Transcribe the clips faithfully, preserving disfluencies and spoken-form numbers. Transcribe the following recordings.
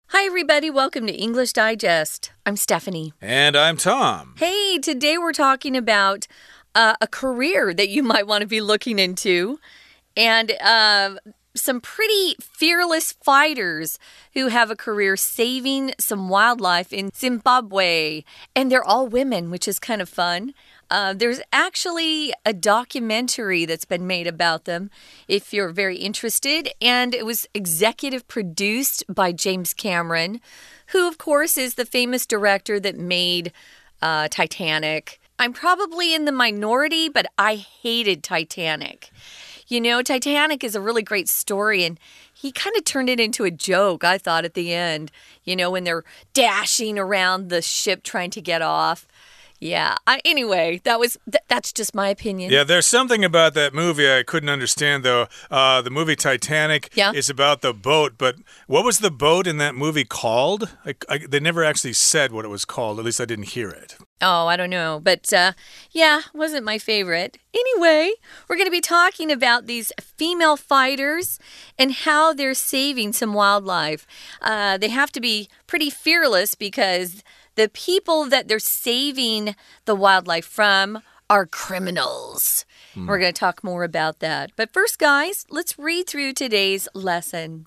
Hi, everybody. Welcome to English Digest. I'm Stephanie. And I'm Tom. Hey, today we're talking about uh, a career that you might want to be looking into and uh, some pretty fearless fighters who have a career saving some wildlife in Zimbabwe. And they're all women, which is kind of fun. Uh, there's actually a documentary that's been made about them if you're very interested, and it was executive produced by James Cameron, who, of course, is the famous director that made uh, Titanic. I'm probably in the minority, but I hated Titanic. You know, Titanic is a really great story, and he kind of turned it into a joke, I thought, at the end, you know, when they're dashing around the ship trying to get off. Yeah. I, anyway, that was th that's just my opinion. Yeah, there's something about that movie I couldn't understand, though. Uh, the movie Titanic yeah. is about the boat, but what was the boat in that movie called? I, I, they never actually said what it was called. At least I didn't hear it. Oh, I don't know. But, uh, yeah, wasn't my favorite. Anyway, we're going to be talking about these female fighters and how they're saving some wildlife. Uh, they have to be pretty fearless because the people that they're saving the wildlife from are criminals. Hmm. We're going to talk more about that. But first, guys, let's read through today's lesson.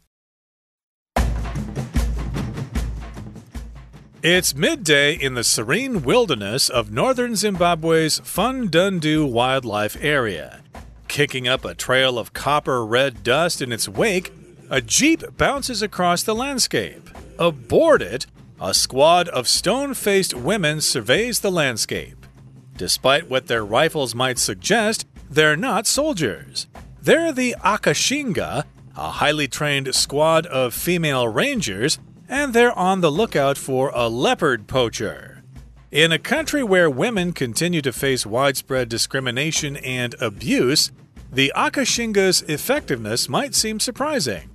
It's midday in the serene wilderness of northern Zimbabwe's Fundundu Wildlife Area. Kicking up a trail of copper-red dust in its wake, a jeep bounces across the landscape. Aboard it, a squad of stone-faced women surveys the landscape. Despite what their rifles might suggest, they're not soldiers. They're the Akashinga, a highly trained squad of female rangers, and they're on the lookout for a leopard poacher. In a country where women continue to face widespread discrimination and abuse, the Akashinga's effectiveness might seem surprising.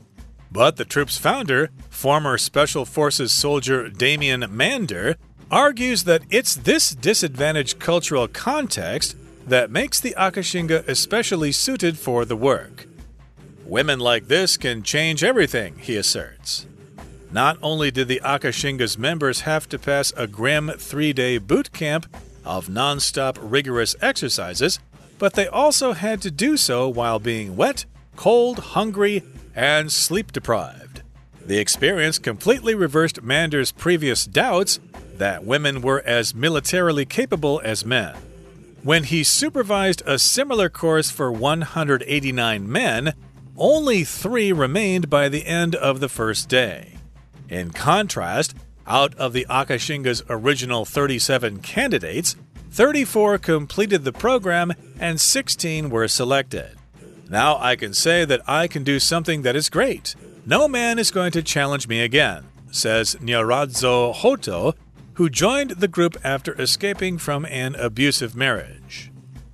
But the troop's founder, former Special Forces soldier Damian Mander, argues that it's this disadvantaged cultural context that makes the Akashinga especially suited for the work. Women like this can change everything, he asserts. Not only did the Akashinga's members have to pass a grim three-day boot camp of non-stop rigorous exercises, but they also had to do so while being wet, cold, hungry, and sleep-deprived. The experience completely reversed Mander's previous doubts that women were as militarily capable as men. When he supervised a similar course for one hundred eighty-nine men, only three remained by the end of the first day. In contrast, out of the Akashinga's original thirty-seven candidates, thirty-four completed the program and sixteen were selected. Now I can say that I can do something that is great. No man is going to challenge me again, says Nyaradzo Hoto, who joined the group after escaping from an abusive marriage.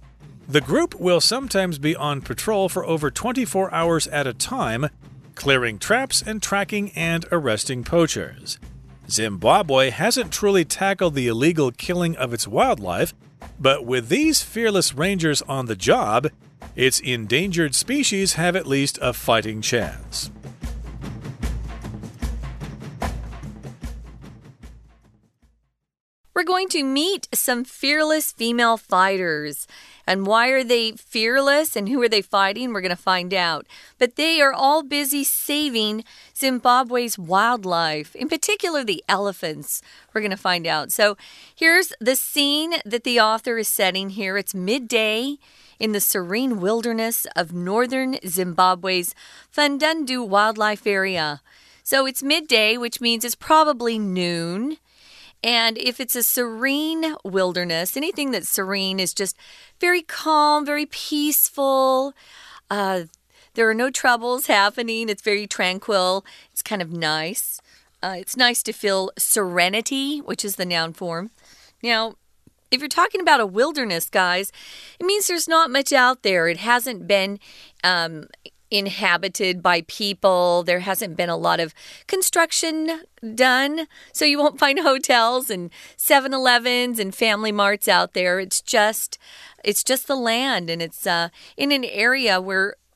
The group will sometimes be on patrol for over twenty-four hours at a time, clearing traps and tracking and arresting poachers. Zimbabwe hasn't truly tackled the illegal killing of its wildlife, but with these fearless rangers on the job, its endangered species have at least a fighting chance. We're going to meet some fearless female fighters. And why are they fearless and who are they fighting? We're going to find out. But they are all busy saving Zimbabwe's wildlife, in particular the elephants. We're going to find out. So here's the scene that the author is setting here. It's midday in the serene wilderness of northern Zimbabwe's Fundundu Wildlife Area. So it's midday, which means it's probably noon. And if it's a serene wilderness, anything that's serene is just very calm, very peaceful. Uh, there are no troubles happening. It's very tranquil. It's kind of nice. Uh, it's nice to feel serenity, which is the noun form. Now, if you're talking about a wilderness, guys, it means there's not much out there. It hasn't been um, inhabited by people. There hasn't been a lot of construction done, so you won't find hotels and seven elevens and Family Marts out there. It's just it's just the land, and it's uh, in an area where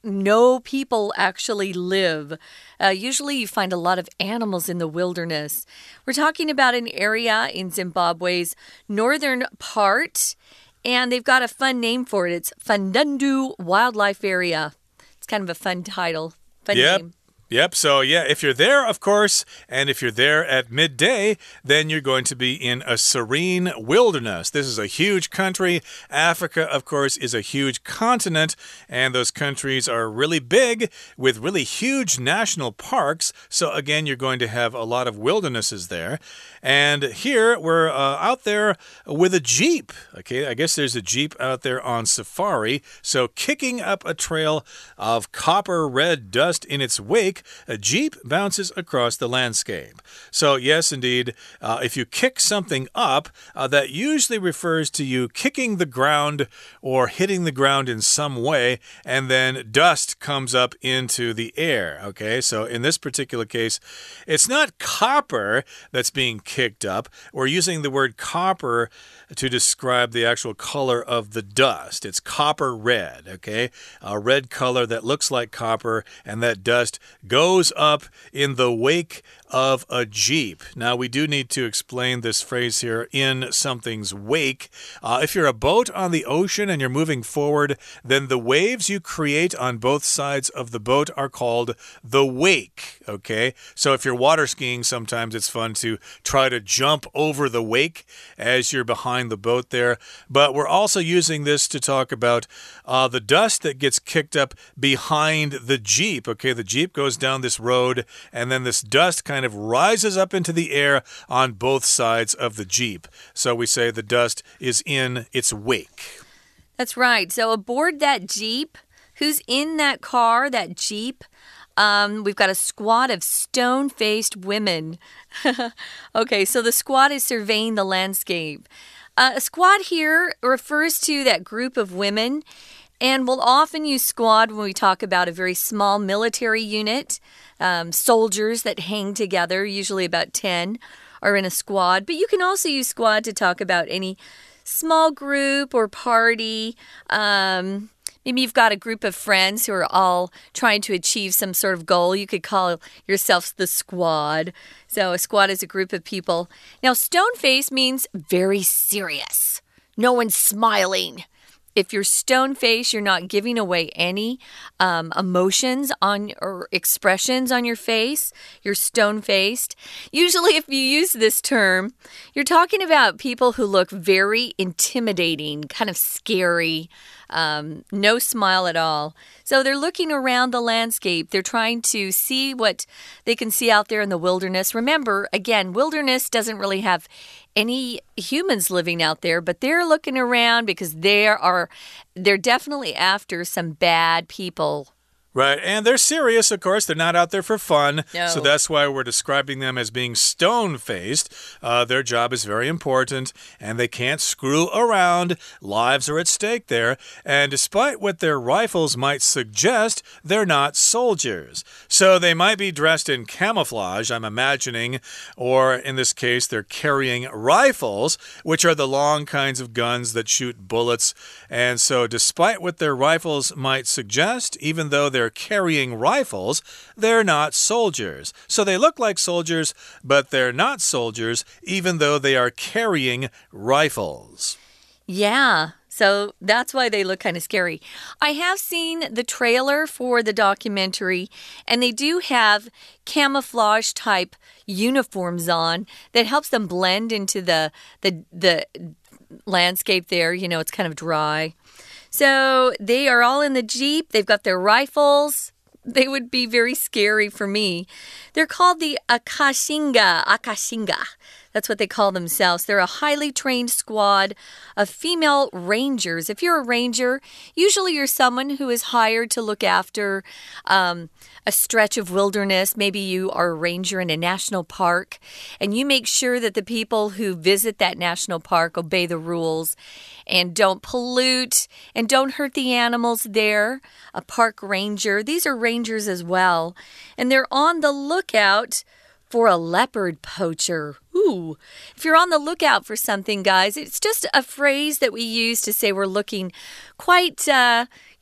no people actually live. Uh, usually you find a lot of animals in the wilderness. We're talking about an area in Zimbabwe's northern part, and they've got a fun name for it. It's Fundundu Wildlife Area. It's kind of a fun title. Fun yep. name. Yep, so yeah, if you're there, of course, and if you're there at midday, then you're going to be in a serene wilderness. This is a huge country. Africa, of course, is a huge continent, and those countries are really big with really huge national parks. So again, you're going to have a lot of wildernesses there. And here we're uh, out there with a Jeep. Okay, I guess there's a Jeep out there on safari. So kicking up a trail of copper red dust in its wake, a Jeep bounces across the landscape. So yes, indeed, uh, if you kick something up, uh, that usually refers to you kicking the ground or hitting the ground in some way, and then dust comes up into the air. Okay, so in this particular case, it's not copper that's being kicked up. We're using the word copper to describe the actual color of the dust. It's copper red, okay? A red color that looks like copper, and that dust goes up in the wake of a Jeep. Now, we do need to explain this phrase here, in something's wake. Uh, if you're a boat on the ocean and you're moving forward, then the waves you create on both sides of the boat are called the wake, okay? So if you're water skiing, sometimes it's fun to try to jump over the wake as you're behind the boat there. But we're also using this to talk about uh, the dust that gets kicked up behind the Jeep, okay? The Jeep goes down this road, and then this dust kind of rises up into the air on both sides of the Jeep. So we say the dust is in its wake. That's right. So aboard that Jeep, who's in that car, that Jeep? Um, we've got a squad of stone-faced women. Okay, so the squad is surveying the landscape. Uh, a squad here refers to that group of women, and we'll often use squad when we talk about a very small military unit. Um, soldiers that hang together, usually about ten, are in a squad. But you can also use squad to talk about any small group or party. Um, maybe you've got a group of friends who are all trying to achieve some sort of goal. You could call yourselves the squad. So a squad is a group of people. Now, stone-faced means very serious. No one's smiling. If you're stone-faced, you're not giving away any um, emotions on or expressions on your face. You're stone-faced. Usually, if you use this term, you're talking about people who look very intimidating, kind of scary, um, no smile at all. So they're looking around the landscape. They're trying to see what they can see out there in the wilderness. Remember, again, wilderness doesn't really have any humans living out there, but they're looking around because there are they're definitely after some bad people. Right, and they're serious, of course. They're not out there for fun. No. So that's why we're describing them as being stone-faced. Uh, their job is very important, and they can't screw around. Lives are at stake there. And despite what their rifles might suggest, they're not soldiers. So they might be dressed in camouflage, I'm imagining, or in this case, they're carrying rifles, which are the long kinds of guns that shoot bullets. And so despite what their rifles might suggest, even though they're They're carrying rifles, they're not soldiers. So they look like soldiers, but they're not soldiers, even though they are carrying rifles. Yeah, so that's why they look kind of scary. I have seen the trailer for the documentary, and they do have camouflage type uniforms on that helps them blend into the the the landscape there. You know, it's kind of dry. So they are all in the Jeep. They've got their rifles. They would be very scary for me. They're called the Akashinga. Akashinga. That's what they call themselves. They're a highly trained squad of female rangers. If you're a ranger, usually you're someone who is hired to look after um, a stretch of wilderness. Maybe you are a ranger in a national park, and you make sure that the people who visit that national park obey the rules and don't pollute and don't hurt the animals there. A park ranger. These are rangers as well, and they're on the lookout for a leopard poacher. Ooh, if you're on the lookout for something, guys, it's just a phrase that we use to say we're looking quite, uh,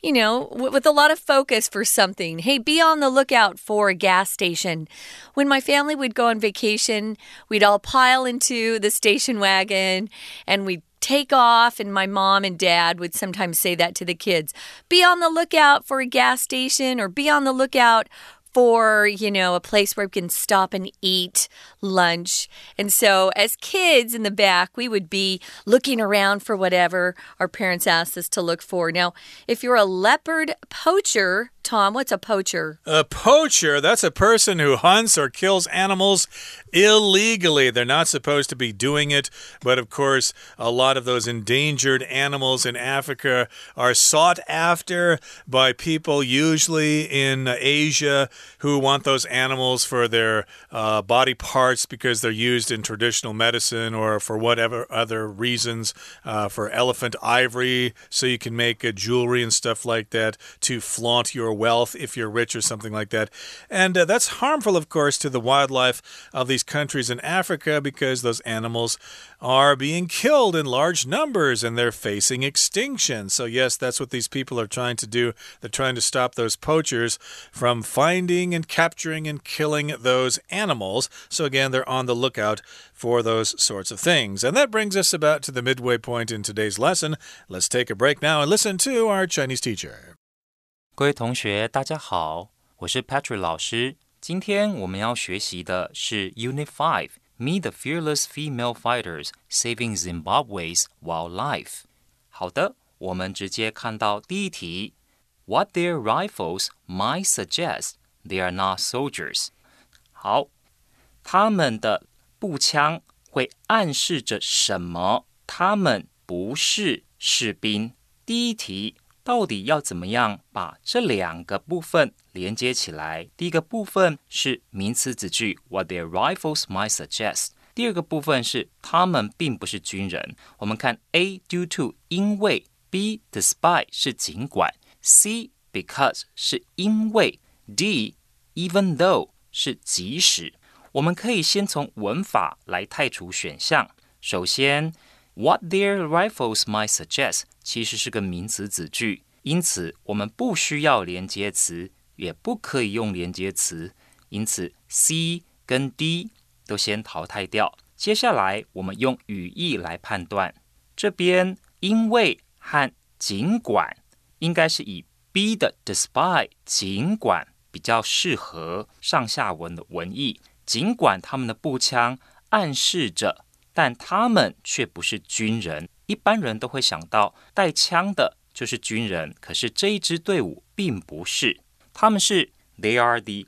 you know, with a lot of focus for something. Hey, be on the lookout for a gas station. When my family would go on vacation, we'd all pile into the station wagon and we'd take off, and my mom and dad would sometimes say that to the kids. Be on the lookout for a gas station, or be on the lookout for, you know, a place where we can stop and eat lunch. And so as kids in the back, we would be looking around for whatever our parents asked us to look for. Now, if you're a leopard poacher, Tom, what's a poacher? A poacher, that's a person who hunts or kills animals illegally. They're not supposed to be doing it, but of course, a lot of those endangered animals in Africa are sought after by people, usually in Asia, who want those animals for their uh, body parts because they're used in traditional medicine or for whatever other reasons, uh, for elephant ivory, so you can make uh, jewelry and stuff like that to flaunt your wealth if you're rich or something like that. And uh, that's harmful, of course, to the wildlife of these countries in Africa because those animals are being killed in large numbers and they're facing extinction. So yes, that's what these people are trying to do. They're trying to stop those poachers from finding and capturing and killing those animals. So again, they're on the lookout for those sorts of things. And that brings us about to the midway point in today's lesson. Let's take a break now and listen to our Chinese teacher. 各位同学大家好，我是 Patrick 老師。今天我們要學習的是 Unit five Meet the Fearless Female Fighters Saving Zimbabwe's Wildlife 好的，我們直接看到第一題 What their rifles might suggest they are not soldiers 好，他們的步槍會暗示着什麼？他們不是士兵。第一題到底要怎麼樣把這兩個部分連接起來？第一個部分是名詞子句 What their rifles might suggest 第二個部分是他們並不是軍人。我們看 A due to 因為 B despite 是儘管 C because 是因為 D even though 是即使。我們可以先從文法來汰除選項。首先What their rifles might suggest 其實是個名詞子句，因此我們不需要連接詞，也不可以用連接詞，因此 C 跟 D 都先淘汰掉。接下來我們用語義來判斷，這邊因為和儘管應該是以 B 的 despite 儘管比較適合上下文的文意，儘管他們的步槍暗示着但他們卻不是軍人，一般人都會想到帶槍的就是軍人，可是這一支隊伍並不是，他們是 They are the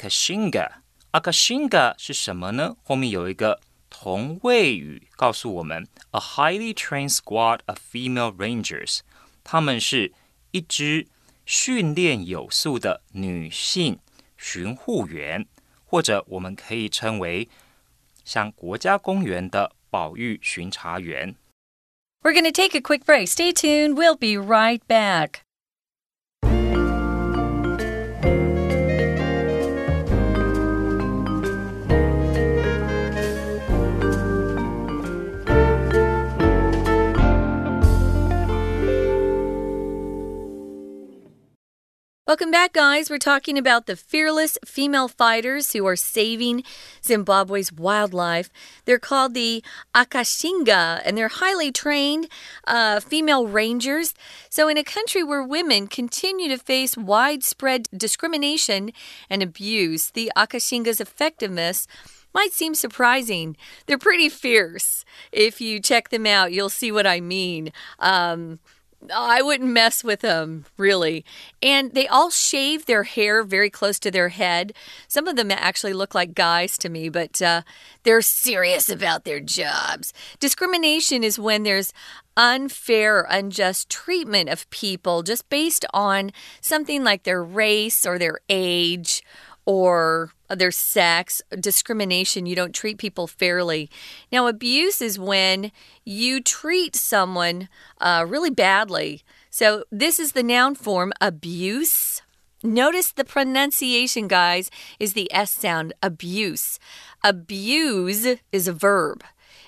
Akashinga。Akashinga 是什麼呢？後面有一個同位語告訴我們 A highly trained squad of female rangers， 他們是一支訓練有素的女性巡護員，或者我們可以稱為像國家公園的保育巡查員。 We're going to take a quick break. Stay tuned. We'll be right back. Welcome back, guys. We're talking about the fearless female fighters who are saving Zimbabwe's wildlife. They're called the Akashinga, and they're highly trained uh, female rangers. So in a country where women continue to face widespread discrimination and abuse, the Akashinga's effectiveness might seem surprising. They're pretty fierce. If you check them out, you'll see what I mean. Um... I wouldn't mess with them, really. And they all shave their hair very close to their head. Some of them actually look like guys to me, but uh, they're serious about their jobs. Discrimination is when there's unfair or unjust treatment of people just based on something like their race or their age or their sex. Discrimination, you don't treat people fairly. Now, abuse is when you treat someone uh, really badly. So this is the noun form, abuse. Notice the pronunciation, guys, is the S sound, abuse. Abuse is a verb.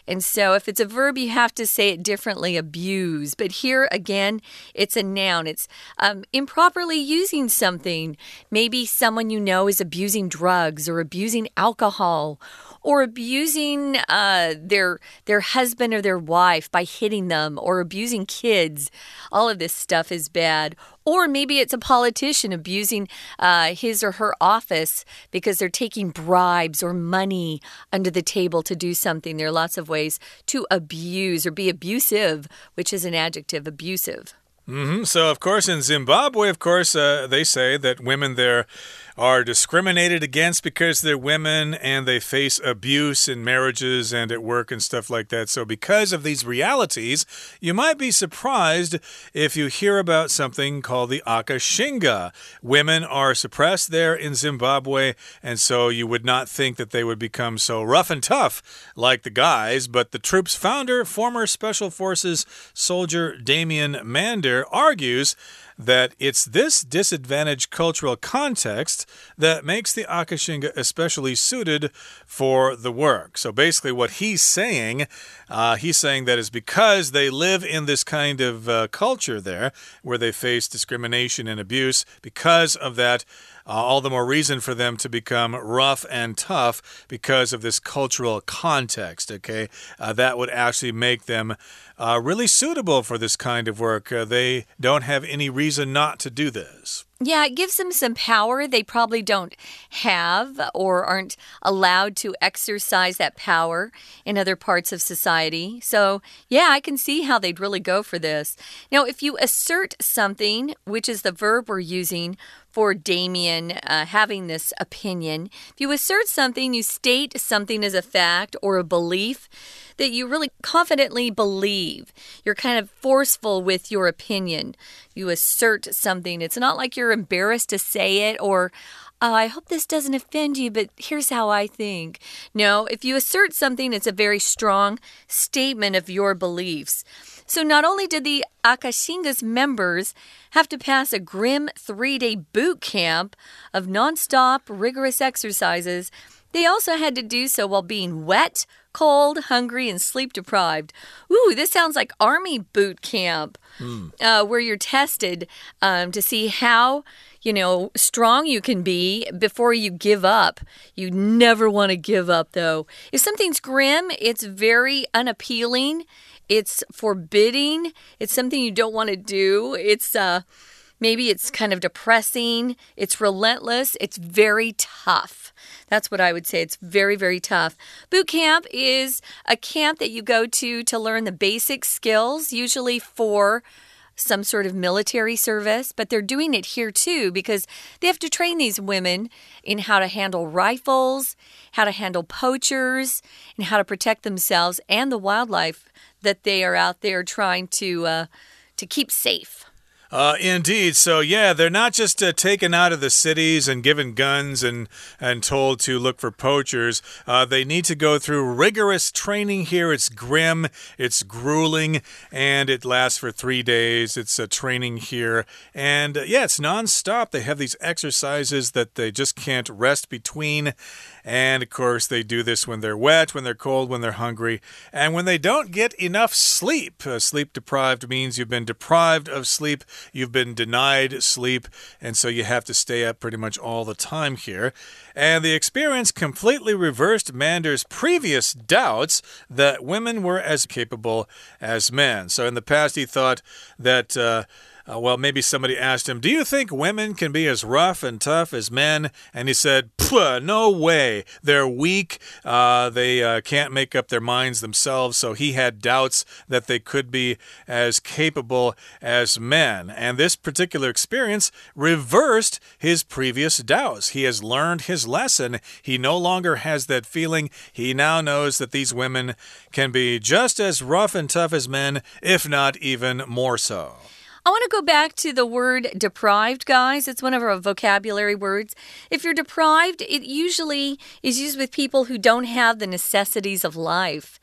And so if it's a verb, you have to say it differently, abuse. But here, again, it's a noun. It's um, improperly using something. Maybe someone you know is abusing drugs or abusing alcohol or abusing uh, their, their husband or their wife by hitting them or abusing kids. All of this stuff is bad. Or maybe it's a politician abusing uh, his or her office because they're taking bribes or money under the table to do something. There are lots of ways to abuse or be abusive, which is an adjective, abusive. Mm-hmm. So, of course, in Zimbabwe, of course, uh, they say that women there are discriminated against because they're women and they face abuse in marriages and at work and stuff like that. So because of these realities, you might be surprised if you hear about something called the Akashinga. Women are suppressed there in Zimbabwe, and so you would not think that they would become so rough and tough like the guys. But the troop's founder, former Special Forces soldier Damian Mander, argues that it's this disadvantaged cultural context that makes the Akashinga especially suited for the work. So basically what he's saying, uh, he's saying that is because they live in this kind of uh, culture there where they face discrimination and abuse. Because of that, Uh, all the more reason for them to become rough and tough because of this cultural context, okay? Uh, that would actually make them uh, really suitable for this kind of work. Uh, they don't have any reason not to do this. Yeah, it gives them some power they probably don't have or aren't allowed to exercise that power in other parts of society. So, yeah, I can see how they'd really go for this. Now, if you assert something, which is the verb we're using for Damien uh, having this opinion, if you assert something, you state something as a fact or a belief that you really confidently believe. You're kind of forceful with your opinion. You assert something. It's not like you're embarrassed to say it or, oh, I hope this doesn't offend you, but here's how I think. No, if you assert something, it's a very strong statement of your beliefs. So not only did the Akashinga's members have to pass a grim three-day boot camp of nonstop, rigorous exercises, they also had to do so while being wet, cold, hungry, and sleep-deprived. Ooh, this sounds like army boot camp, mm. uh, where you're tested um, to see how, you know, strong you can be before you give up. You never want to give up, though. If something's grim, it's very unappealing. It's forbidding. It's something you don't want to do. It's uh, maybe it's kind of depressing. It's relentless. It's very tough. That's what I would say. It's very, very tough. Boot camp is a camp that you go to to learn the basic skills, usually for some sort of military service, but they're doing it here too because they have to train these women in how to handle rifles, how to handle poachers, and how to protect themselves and the wildlife that they are out there trying to uh, to keep safe. Uh, indeed. So, yeah, they're not just uh, taken out of the cities and given guns and, and told to look for poachers. Uh, they need to go through rigorous training here. It's grim, it's grueling, and it lasts for three days. It's a uh, training here. And, uh, yeah, it's nonstop. They have these exercises that they just can't rest between. And, of course, they do this when they're wet, when they're cold, when they're hungry, and when they don't get enough sleep. Uh, sleep-deprived means you've been deprived of sleep. You've been denied sleep, and so you have to stay up pretty much all the time here. And the experience completely reversed Mander's previous doubts that women were as capable as men. So in the past, he thought that... Uh, Uh, well, maybe somebody asked him, do you think women can be as rough and tough as men? And he said, no way. They're weak. Uh, they uh, can't make up their minds themselves. So he had doubts that they could be as capable as men. And this particular experience reversed his previous doubts. He has learned his lesson. He no longer has that feeling. He now knows that these women can be just as rough and tough as men, if not even more so. I want to go back to the word deprived, guys. It's one of our vocabulary words. If you're deprived, it usually is used with people who don't have the necessities of life.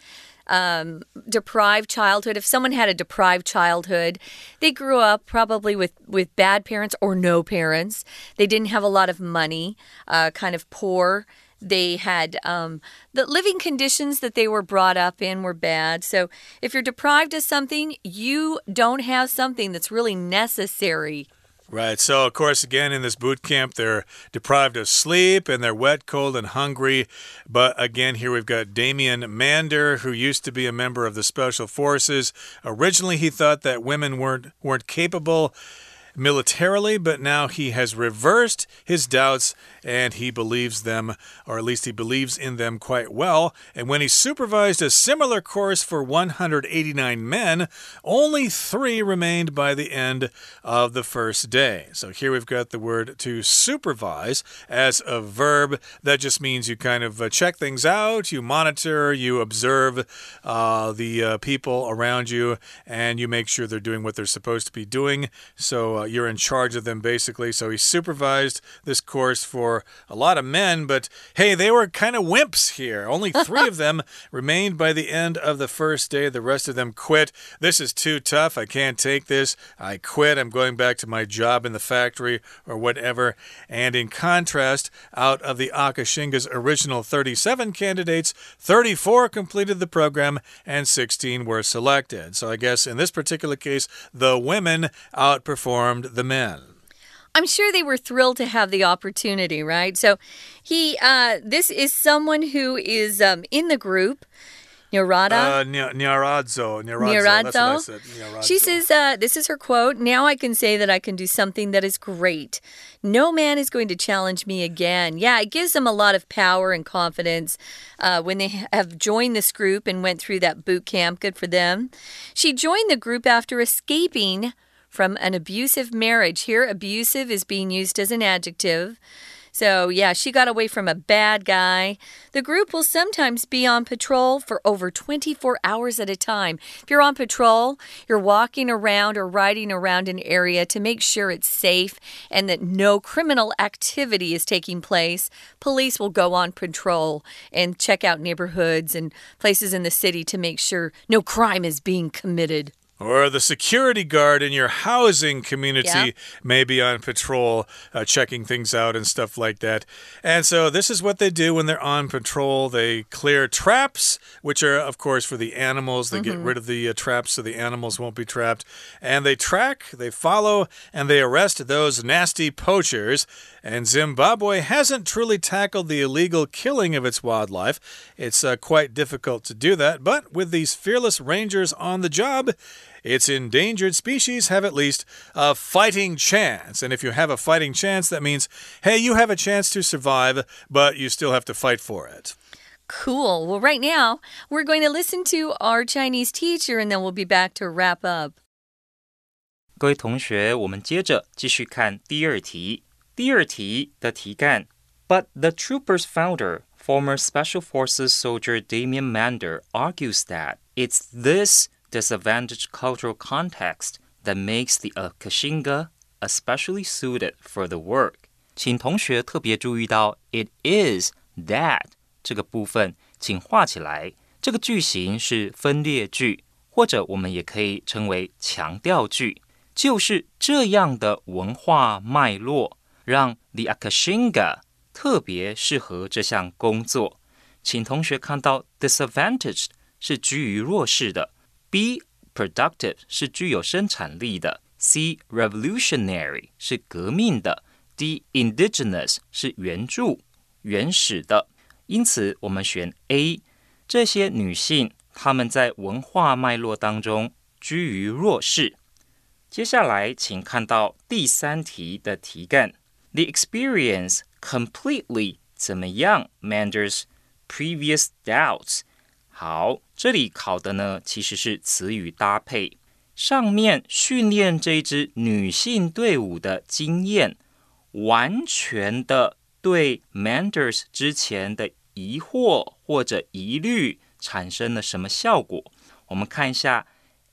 um, deprived childhood. If someone had a deprived childhood, they grew up probably with, with bad parents or no parents. They didn't have a lot of money, uh, kind of poor. They had um, the living conditions that they were brought up in were bad. So if you're deprived of something, you don't have something that's really necessary. Right. So, of course, again, in this boot camp, they're deprived of sleep and they're wet, cold, and hungry. But again, here we've got Damien Mander, who used to be a member of the Special Forces. Originally, he thought that women weren't weren't capable militarily, but now he has reversed his doubts and he believes them, or at least he believes in them quite well. And when he supervised a similar course for one hundred eighty-nine men, only three remained by the end of the first day. So here we've got the word to supervise as a verb. That just means you kind of uh, check things out, you monitor, you observe uh, the uh, people around you, and you make sure they're doing what they're supposed to be doing. So uh, you're in charge of them, basically. So he supervised this course for a lot of men, but hey, they were kind of wimps here. Only three of them remained by the end of the first day. The rest of them quit. This is too tough. I can't take this. I quit. I'm going back to my job in the factory or whatever. And in contrast, out of the Akashinga's original thirty-seven candidates, thirty-four completed the program and sixteen were selected. So I guess in this particular case, the women outperformed the men. I'm sure they were thrilled to have the opportunity, right? So he, uh, this is someone who is um, in the group. Nyarada? Uh, Nyaradzo. Nyaradzo. That's what I said. Nyaradzo. She says, uh, this is her quote, "Now I can say that I can do something that is great. No man is going to challenge me again." Yeah, it gives them a lot of power and confidence uh, when they have joined this group and went through that boot camp. Good for them. She joined the group after escaping from an abusive marriage. Here, abusive is being used as an adjective. So, yeah, she got away from a bad guy. The group will sometimes be on patrol for over twenty-four hours at a time. If you're on patrol, you're walking around or riding around an area to make sure it's safe and that no criminal activity is taking place. Police will go on patrol and check out neighborhoods and places in the city to make sure no crime is being committed. Or the security guard in your housing community yeah. may be on patrol, uh, checking things out and stuff like that. And so this is what they do when they're on patrol. They clear traps, which are, of course, for the animals. They mm-hmm. get rid of the uh, traps so the animals won't be trapped. And they track, they follow, and they arrest those nasty poachers. And Zimbabwe hasn't truly tackled the illegal killing of its wildlife. It's uh, quite difficult to do that. But with these fearless rangers on the job, its endangered species have at least a fighting chance. And if you have a fighting chance, that means, hey, you have a chance to survive, but you still have to fight for it. Cool. Well, right now, we're going to listen to our Chinese teacher, and then we'll be back to wrap up. 各位同學，我們接着繼續看第二題。第二題的題幹 But the trooper's founder, former Special Forces soldier Damien Mander, argues that it's this disadvantaged cultural context that makes the Akashinga especially suited for the work. 請同學特別注意到 it is that 這個部分，請畫起來。這個句型是分裂句，或者我們也可以稱為強調句，就是這樣的文化脈絡，讓 the Akashinga 特別適合這項工作。請同學看到 disadvantaged 是居於弱勢的， B productive 是具有生產力的， C revolutionary 是革命的， D indigenous 是原住原始的。因此我們選 A， 這些女性她們在文化脈絡當中居於弱勢。接下來請看到第三題的題幹 The experience completely 怎麼樣 Mander's previous doubts。 好，這裡考的呢其實是詞語搭配。上面訓練這支女性隊伍的經驗，完全的對 Manders 之前的疑惑或者疑慮產生了什麼效果？我們看一下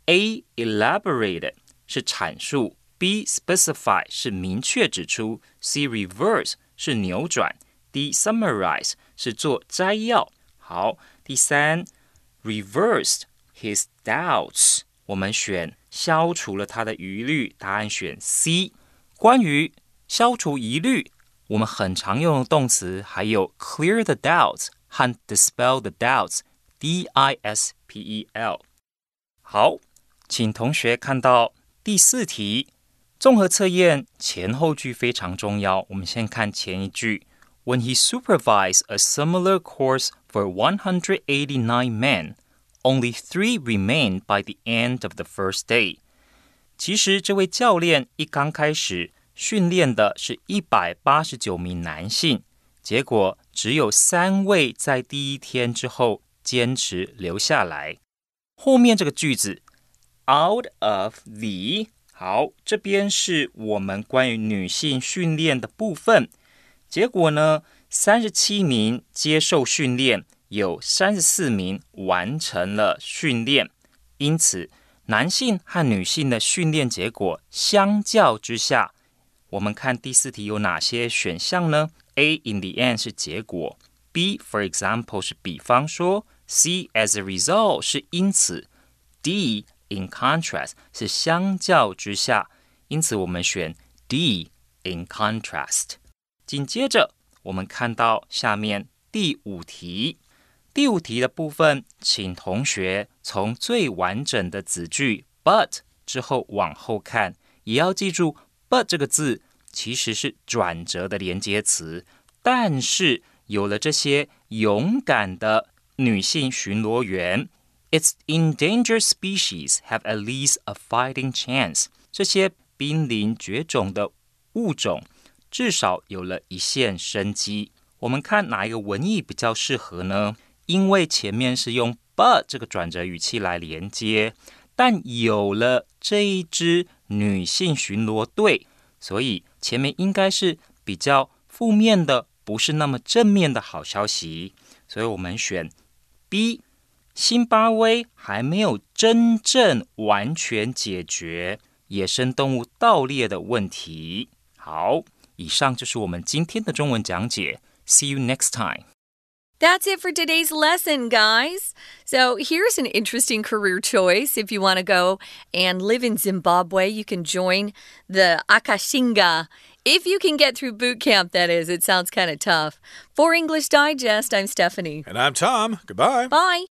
A elaborated 是闡述， B specify 是明確指出， C reverse 是扭轉， D summarize 是做摘要。好，第三 reversed his doubts。我們選消除了他的疑慮，答案選 C。關於消除疑慮，我們很常用的動詞還有 clear the doubts 和 dispel the doubts D I S P E L。 好，請同學看到第四題，綜合測驗前後句非常重要。我們先看前一句， When he supervised a similar course for one hundred eighty-nine men, only three remained by the end of the first day。 其實這位教練一剛開始訓練的是一百八十九名男性，結果只有三位在第一天之後堅持留下來。後面這個句子 out of the， 好，這邊是我們關於女性訓練的部分。結果呢，三十七名接受訓練，有三十四名完成了訓練，因此男性和女性的訓練結果相較之下，我們看第四題有哪些選項呢？ A in the end 是結果， B for example 是比方說， C as a result 是因此， D in contrast 是相較之下，因此我們選 D in contrast。 緊接着我們看到下面第五題，第五題的部分，請同學從最完整的子句 but 之後往後看，也要記住 but 這個字其實是轉折的連接詞，但是有了這些勇敢的女性巡邏員， its endangered species have at least a fighting chance。 這些瀕臨絕種的物種至少有了一線生機。我們看哪一個文意比較適合呢？因為前面是用 but 這個轉折語氣來連接，但有了這一支女性巡邏隊，所以前面應該是比較負面的，不是那麼正面的好消息。所以我們選 B， 辛巴威還沒有真正完全解決野生動物盜獵的問題。好，以上就是我們今天的中文講解。See you next time. That's it for today's lesson, guys. So here's an interesting career choice. If you want to go and live in Zimbabwe, you can join the Akashinga. If you can get through boot camp, that is. It sounds kind of tough. For English Digest, I'm Stephanie. And I'm Tom. Goodbye. Bye.